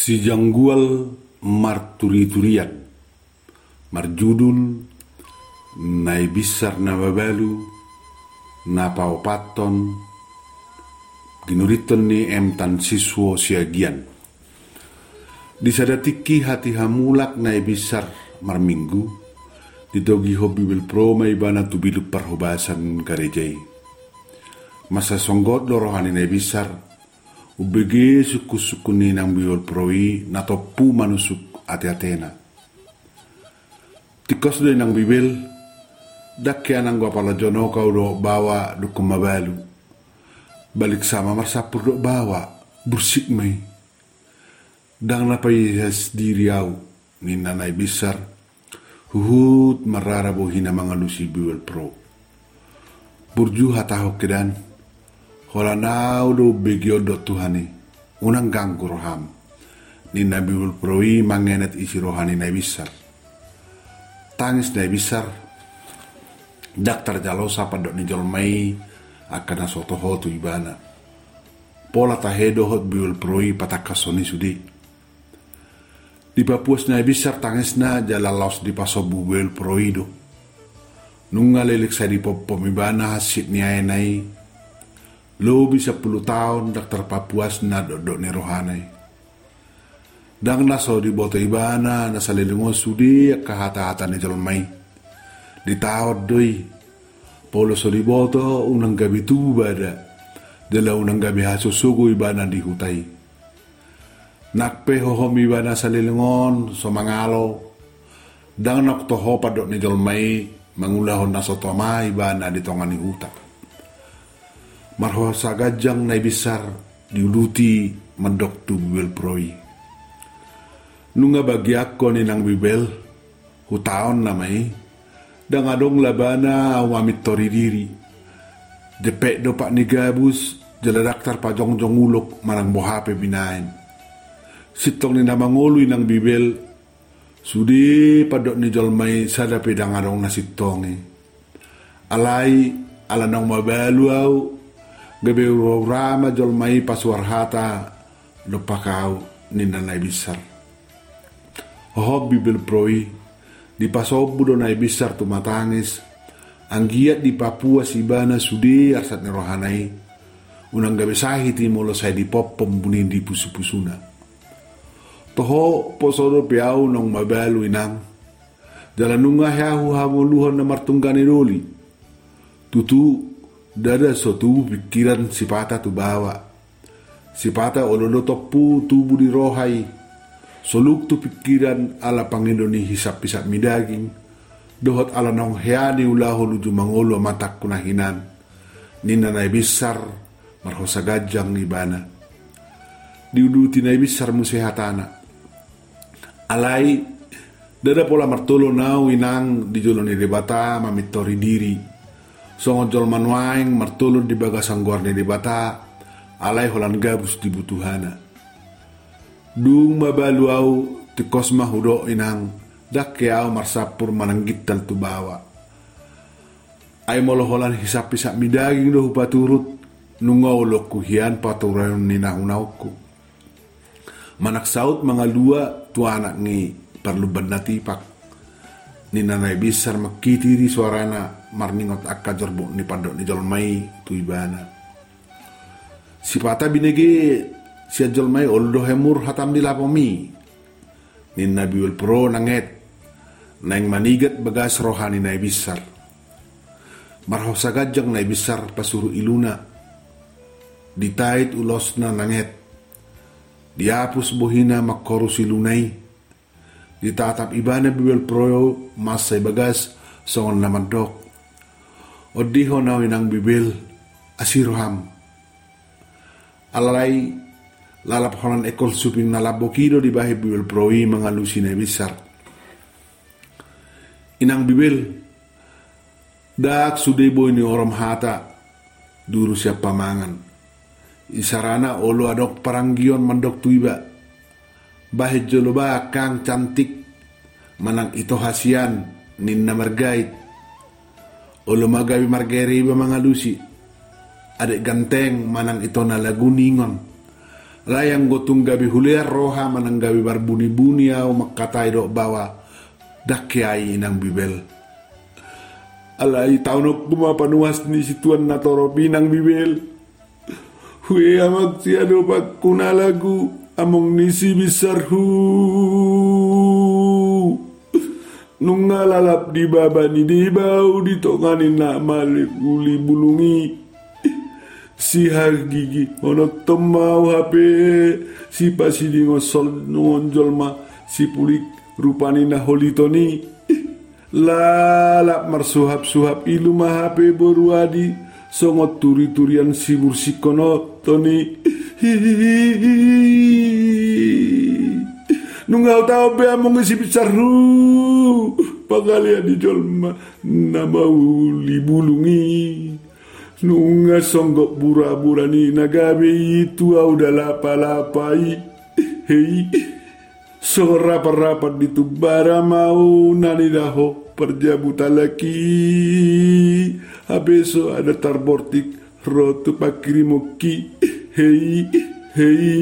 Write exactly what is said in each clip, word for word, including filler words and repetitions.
Si janggual marturi-turian marjudul nai bisar na babalu na paupaton ginuriton ni emtan siswo siagian disadatiki hati hamulak nai bisar marminggu didogi hobi bil pro mai bana tu bilu parhobasan karejai masa songgot lorohani nai bisar ubege suku-suku ni nang biol proi na topu manusuk ate-atena. Tikos do nang bibil dakya nang gua pala jono kau do bawa do kumabalu. Balik sama marsapur do bawa bursik mai. Dang napai has diri au ni nanai bisar huhut marara bohina mangalusi biol pro. Burju hatahok kedan hola nau do begio do Tuhani unang ganggu roham ni nabiul proi mangenet isi rohani nai bisar tangis nai bisar daktar jalo sapa dok ni jolmai akana soto hotu ibana pola tahedo hot biul proi patakasoni sudi di papuas nai bisar tangis na jalalos di pasobu biul proi do nunga lelik sa di popom ibana hasit ni nai Lobi sepuluh tahun daktar Papuas na dodok ni rohanai. Dang naso di boto ibana na salilungo sudi kahata-hata ni jolmai. Di tahun doi. Polo so di boto unang gabi tuba da. Dala unang gabi haso sugo ibana di hutai. Nakpe hohom ibana salilungon so mangalo. Dang naktoho padok ni jolmai mangulahon na sotoma ibana di tongan ni hutak. Marho sagajang nai bisar diuluti mendok tu bibel proi. Nunga bagi ako ni nang bibel hutaon namai dang adong labana awamit tori diri. Depek do pak ni gabus jala daktar pajong-jong ulok marang bohape binain. Sitong ni namangului nang bibel sudi padok ni jolmai sada pedang adong nasitongi. Alai ala nang mabalu au gabe rama jolmai paswarhata lupa kau ni nanai bisar. Hobi bil proi di pasobu do nai bisar tu matangis anggiat di Papua sibana sudi arsat ni rohanai unang gabe sahiti molo saya di popom bunin di pusu-pusuna. Toho posodo piau nong mabalu inang jalan nunga yahu hamuluhan na martunggani doli tutu dada sotu pikiran sipata tu bawa sipata ololo topu tubuh di rohai soluk tu pikiran ala pangindoni hisap-hisap midaging dohot ala nong heani ulaho luju mangolo matak kunahinan nina nai bisar marhosa gajang ibana diuduti nai bisar musehatana alai dada pola martolo nau inang di joloni debata mamitori diri songo jol manuaing martulun di bagasang gorni di bata alai holan gabus dibutuhana dung mabalu au tikos mahudo inang dak au marsapur mananggit tal tu bawa ay molo holan hisap-hisap midaging do paturut nungaw lokuhian paturan ni nahunawku manak saut mga lua tu anak ni perluban natipak ni nanai bisar makitiri suarana marningot akka jorbo ni pandok ni jolmai tu ibana. Sipata binege si jolmai oldo hemur hatam di lapomi. Ni nabiul pro nanget nang manigat bagas rohani nai bisar. Marho sagajang nai bisar pasuru iluna. Ditait ulosna nanget. Diapus bohina makorusi lunai. Ditatap ibana bibil pro masay bagas songon naman dok. Odiho na winang bibil asiroham. Alalay lalap holan ekol suping nalabokido di bahi bibil proi mangalusi na bisar. Inang bibil dak sudebo ini orom hata duru siap pamangan. Isarana olo adok paranggion mandok tuiba. Bahi joloba kang cantik manang ito hasian ninna margait. Olo magawi margeri ba mga lusi adek ganteng manang ito na laguningon Layang gotong gabi huliar roha mananggabi barbuni-buni au makatai dok bawa dakyai inang bibel. Alai taunok bumapanuas ni situan natoro pinang bibel. Hui amak siado pak kunalagu among nisi besar hu. Nungalalap di baba ni di bau di tonganin nak malik uli bulungi. Si har gigi ono tomau H P si pasi di ngosol ngonjol ma si pulik rupani na holitoni lalap marsuhap-suhap ilu ma H P boruadi songot turi-turian si bursikono toni nungau tau be among si bicaru pagalia di jolma nama uli bulungi. Nunga songgok bura-bura ni nagabe itu au dalapa-lapai. Hei, so rapat-rapat itu bara mau nani daho perjabuta laki. Habeso ada tarbortik rotu pakirimoki. Hei, hei.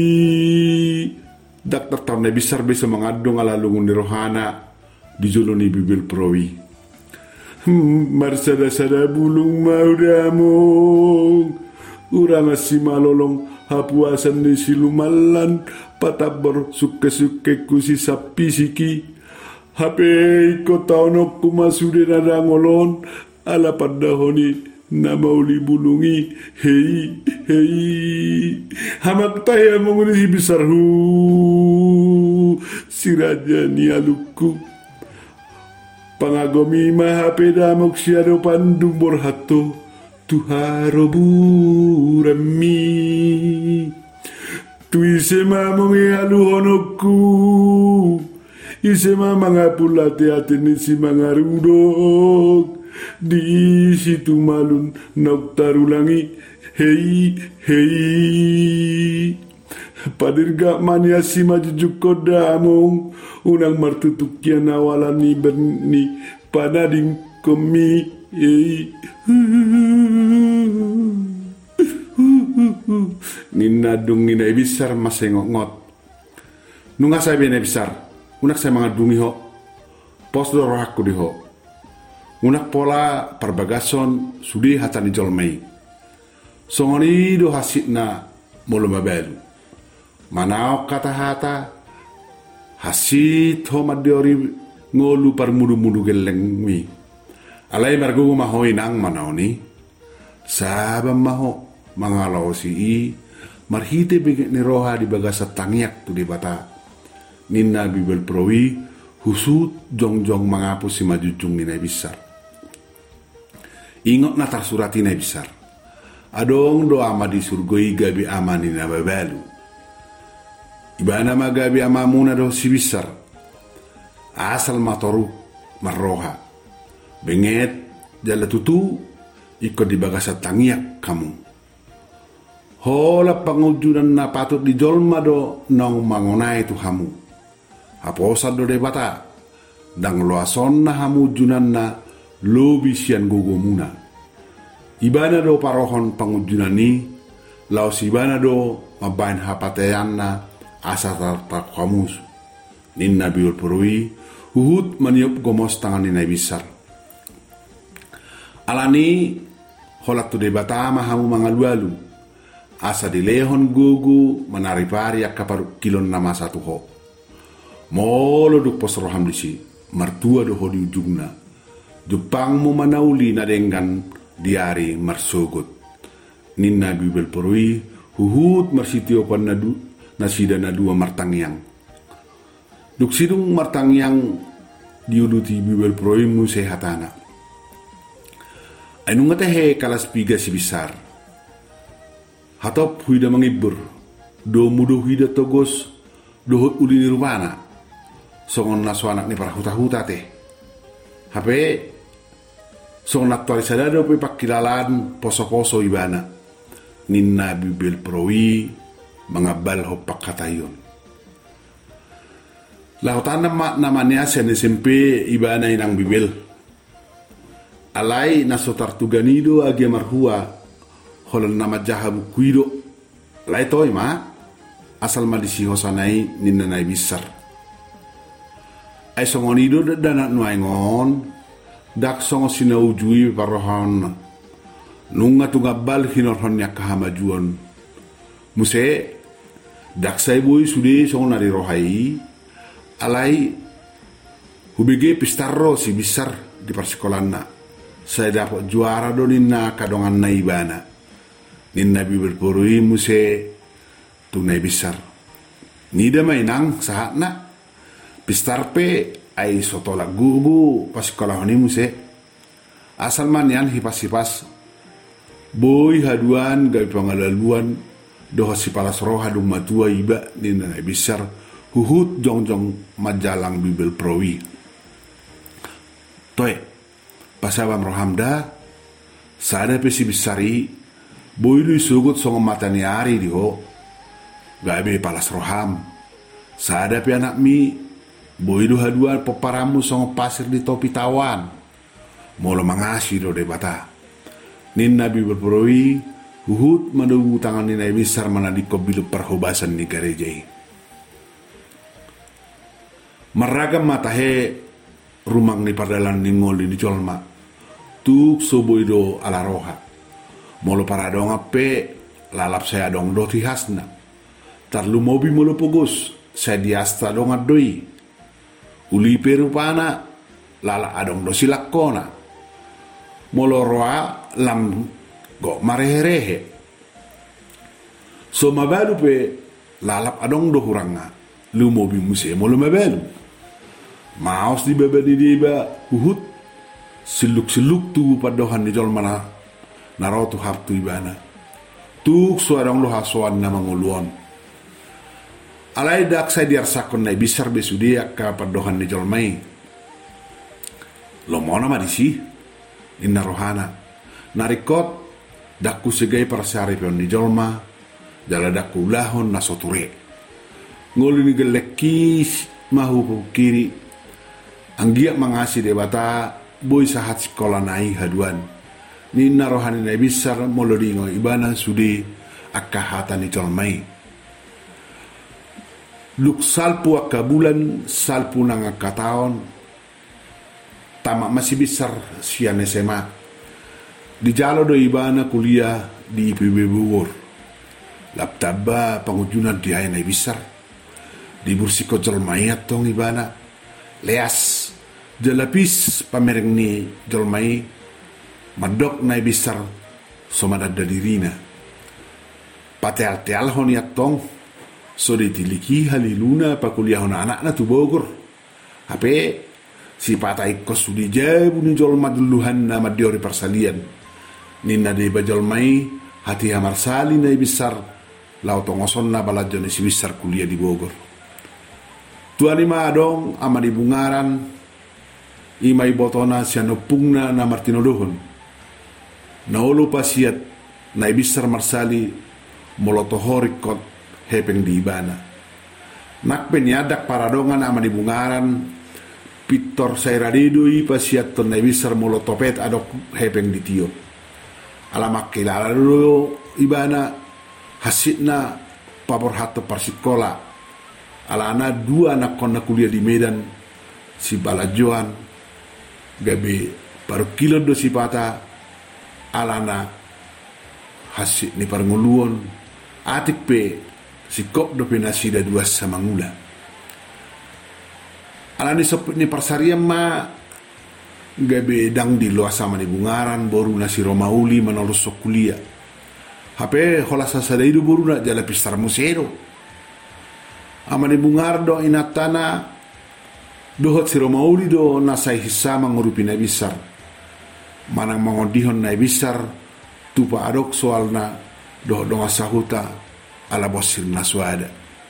Daktar tarne besar bisa mengadong ala lungun di rohana di juluni bibil prowi. Marsada-sada bulung mau damong ura masih malolong hapuasan di silumalan patabor suke-suke kusi sapi siki hape ko taonok kumasude nada ngolon ala padahoni nama uli bulungi hei hei hamak taya mengurisi besar hu si raja ni aluku pangagomi mahape damok siado pandung borhato tuharo burami tu ise mamongi alu honoku ise mamanga pulate ateni si mangarudok di situ malun nok tarulangi hei hei padirga mania si majujuk kodamong unang martutukian awalan ni berni panading komi eh ninadung ni besar masengok ngot nunga saya bene besar unak saya mangadungi ho pos doro aku di ho unak pola perbagason sudi hatani jolmei songoni do hasitna molo mabelu manao kata hata hasit ho madiori ngolu par mudu-mudu geleng mi alai margo mahoi nang manaoni sabam maho mangalau si i marhite bege ni roha di bagasa tangiak tu di bata ninna bibel prowi husut jong-jong mangapu si majujung ni besar ingot na tarsurati na besar adong do ama di surgoi gabi ama ni na babalu ibana magabi ama muna do si besar asal matoru marroha benget jala tutu ikut di bagasa tangiak kamu hola pangujudan na patut di jolma do nong mangonai tu hamu aposa do de bata dang loason na hamu junan na lobi sian gogo muna ibana do parohon pangujudan ni laos ibana do mabain hapatean na asa tartak kamus ninna biul purui uhud maniup gomos tangan ninai besar alani holat tu de bata mahamu mangalu-alu asa di lehon gugu menaripari akaparu kilon nama satu ho molo duk pos roham disi martua do ho di ujungna Jepang mu manauli na denggan diari marsogot ninna bibel porui huhut marsitio pan nadu nasida na dua martangyang duk sidung martangyang diuluti bibel porui mu sehatana anu ngatahe kalas piga si besar hatop huida mangibur do mudo huida togos dohot uli nirwana songon naso anak ni para huta-huta teh hape songon aktuali sadado pe pakilalan poso-poso ibana ninna bibel prowi mangabal hopak katayon lautan nama namanya sen S M P ibana inang bibel alai naso tartuganido agi marhua holan nama jahabu kuido lai toy ma asal madisi hosanai ninna nai bisar. Ai songon ido dana nuaingon dak songo sinau jui parohon nunga tunga bal hinor honnya kahamajuan muse dak sai boy sude songo nari rohai alai hubege pistarro si bisar di persikolanna saya dapat juara do ninna kadongan naibana ninna bibir porui muse tunai bisar nida mainang sahatna pistarpe ai sotola gugu pas sekolah ni muse asal manian hipas-hipas boy haduan gai pangalaluan doh si palas roha dum matua iba ni na bisar huhut jongjong majalang bibel prowi toy pasabam rohamda sada pesi bisari boy lu sugut songo matani ari diho gai be palas roham sada pe anak mi boy du haduan poparamu songo pasir di topi tawan molo mangasi do de bata nin nabi berperoi huhut madugu tangan ni nabi besar mana di kobilu perhobasan ni garejai meragam matahe rumang ni pardalan ni ngol di jolma tuk soboido ala roha molo para dong ape lalap saya dong do tihasna tarlu mobi molo pogos saya diasta dong adoi uli perupana lala adong do silakona moloroa lam go mareherehe so mabalu pe lalap adong do huranga lu mobi muse molo mabalu maos di baba di diba uhut siluk siluk tu padohan di jol mana narotu haptu ibana tuk suarang lo hasuan na manguluan alai dak saya diarsakon na bisar besudia ka padohan ni jolmai lo mona madisi inna rohana narikot dakku segai persari pion ni jolma jala dakku lahon na soture ngoli ni gelekis mahu kiri anggia mangasi debata boy sahat sekolah nai haduan ninna rohani na bisar molodingo ibana sudi akahatan ni jolmai luk salpu akka bulan salpu nang akka taon tamak masih besar sian S M A di jalo do ibana kuliah di I P B Bogor laptaba pengujunan di ayana besar di bursiko jolmai tong ibana leas jelapis pamereng ni jolmai madok na besar somadada dirina patel tel honiat tong so ditiliki haliluna pa kuliah na anak na tu Bogor hape si patai kos sudi jabu ni jol maduluhan na madiori persalian ninna de bajol mai hati hamar sali na besar lau tongoson na balajon si besar kuliah di Bogor tuani ma dong ama di bungaran imai botona siano pungna na Martino dohon na olo pasiat na besar marsali molotohorik kot hepeng di ibana nak penyadak paradongan ama di bungaran pitor sayradidui pasiat ton nebisar molotopet adok hepeng di tio alamak kilala dulu ibana hasitna pabor hato persikola alana dua anak kona kuliah di Medan si balajoan gabe paru kilo do si pata alana hasit ni parnguluon atik pe si kop do penasida dua sama ngula alani sop ni parsariam ma gabe dang di loa sama di bungaran boru nasi romauli menolus sok kuliah hape hola sasada itu boru na jala pistar musero ama di bungar do inatana dohot si romauli do nasai hisama ngurupi na bisar manang mangodihon na bisar tupa adok soalna doh donga sahuta ala bosir naswada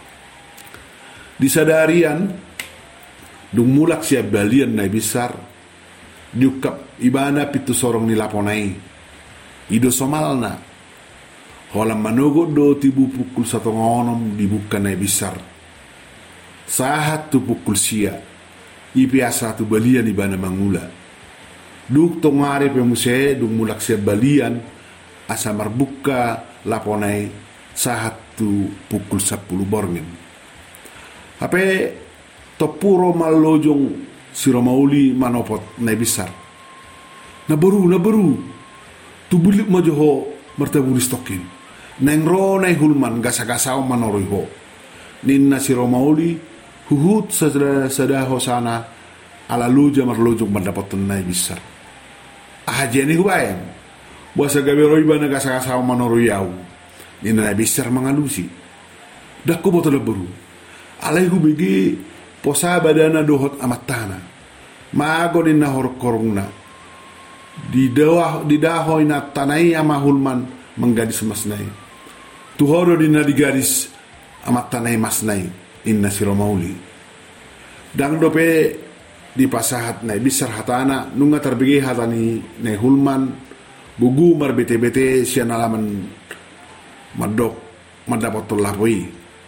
disadarian dung mulak siap balian na besar diukap ibana pitu sorong nilaponai ido somalna holam manogo do tibu pukul satu ngonom dibuka na besar sahat tu pukul sia ipiasa tu balian ibana mangula duk tongare pemuse dung mulak siap balian asa marbuka laponai sahat waktu pukul sepuluh borngin. Hape topuro malojong si Romauli manopot na besar. Nabaru, nabaru. Tubulik mo joho martabulis tokin. Nengro na hulman gasa-gasaw manoroy ho. Ninna si Romauli huhut sa sadaho sana alaluja marlojong mandapat na besar. Ahajeni hubayang. Buasa gaberoy ba na gasa-gasaw manoroy yaw. Ninna na besar mangalusi. Dakko boto nabaru. Alay hubigi posa badana dohot amat tanah. Maago ni na horkorong na. Di dawah di dahoy na tanay amahulman menggadis masnay. Tuhoro di na digadis amat tanay masnay inna si Romauli. Dang dope di pasahat na bisar hatana nunga terbigi hatani na hulman bugu mar bete-bete siya nalaman madok madapat tulapoy.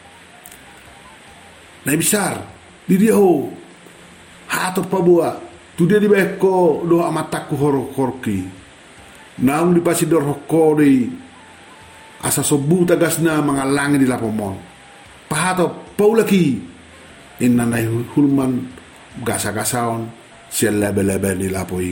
Na bisar di dia ho hato pabua tu dia di beko do amataku hor-horki naung di pasidor hokko di asa sobu tagasna mangalangi di lapomon pahato paulaki inna nai hulman gasa-gasaon siya lebe-lebe di lapoi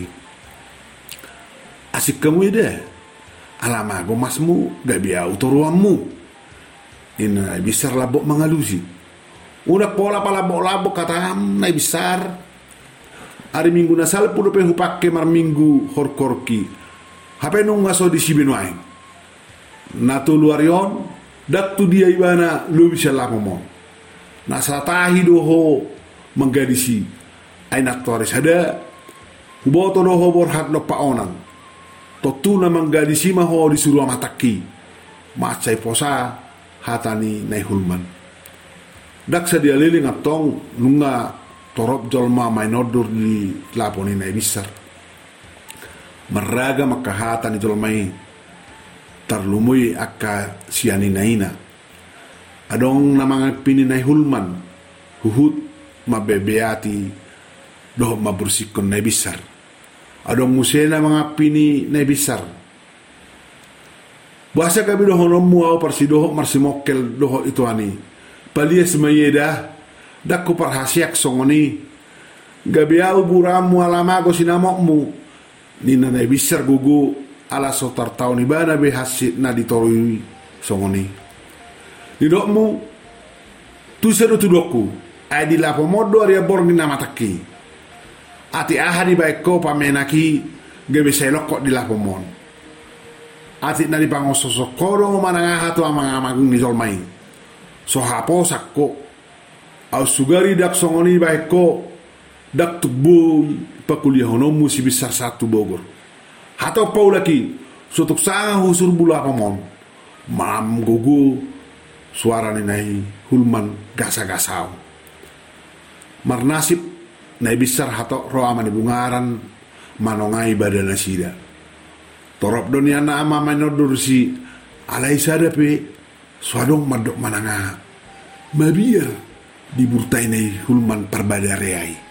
asik kamu ide alamago masmu gabia utoruammu inna bisar labok mangalusi. Udah pola pala labok katam nai besar. Hari minggu nasal pudo pe hupake mar minggu horkorki. Hape nung ngaso di sibinuain. Natu luarion dak tu dia ibana lu bisa lakomon. Nasatahi doho menggadisi. Ainak toris ada. Huboto doho borhat no paonan. Totuna menggadisi maho disuruh amataki. Macai posa hatani nai hulman. Dak sadia liling atong nunga torop jolma mainodur di laponi na bisar. Meraga makahata ni jolmai tarlumui akka siani naina. Adong namang pini na hulman huhut mabebeati doh mabursikon na bisar. Adong musena mga pini na bisar. Buasa kabi doho nomu au parsidoho marsimokkel doho itu ani. Palias mayeda dakku parhasiak songoni gabiau buramu alamago sinamokmu nina na bisar gugu ala sotar tau ni bana be hasit na ditorui songoni didokmu tu seru tudokku adi lapo modo aria borni na mataki ati ahadi baiko pamenaki gabe selok di lapo mon ati na di pangososokoro manangaha tu amang-amang ni zolmai so hapo sakko au sugari dak songoni baiko dak tubo pakuliah honomu si besar satu Bogor hato paulaki sotok sanga husur bula pamon mam gugu suara ni nai hulman gasa-gasau marnasib nai besar hato roa mani bungaran manongai badana sida torop doniana ama manodur si alai sadape suadong madok mananga mabiar diburtai nei hulman perbadareai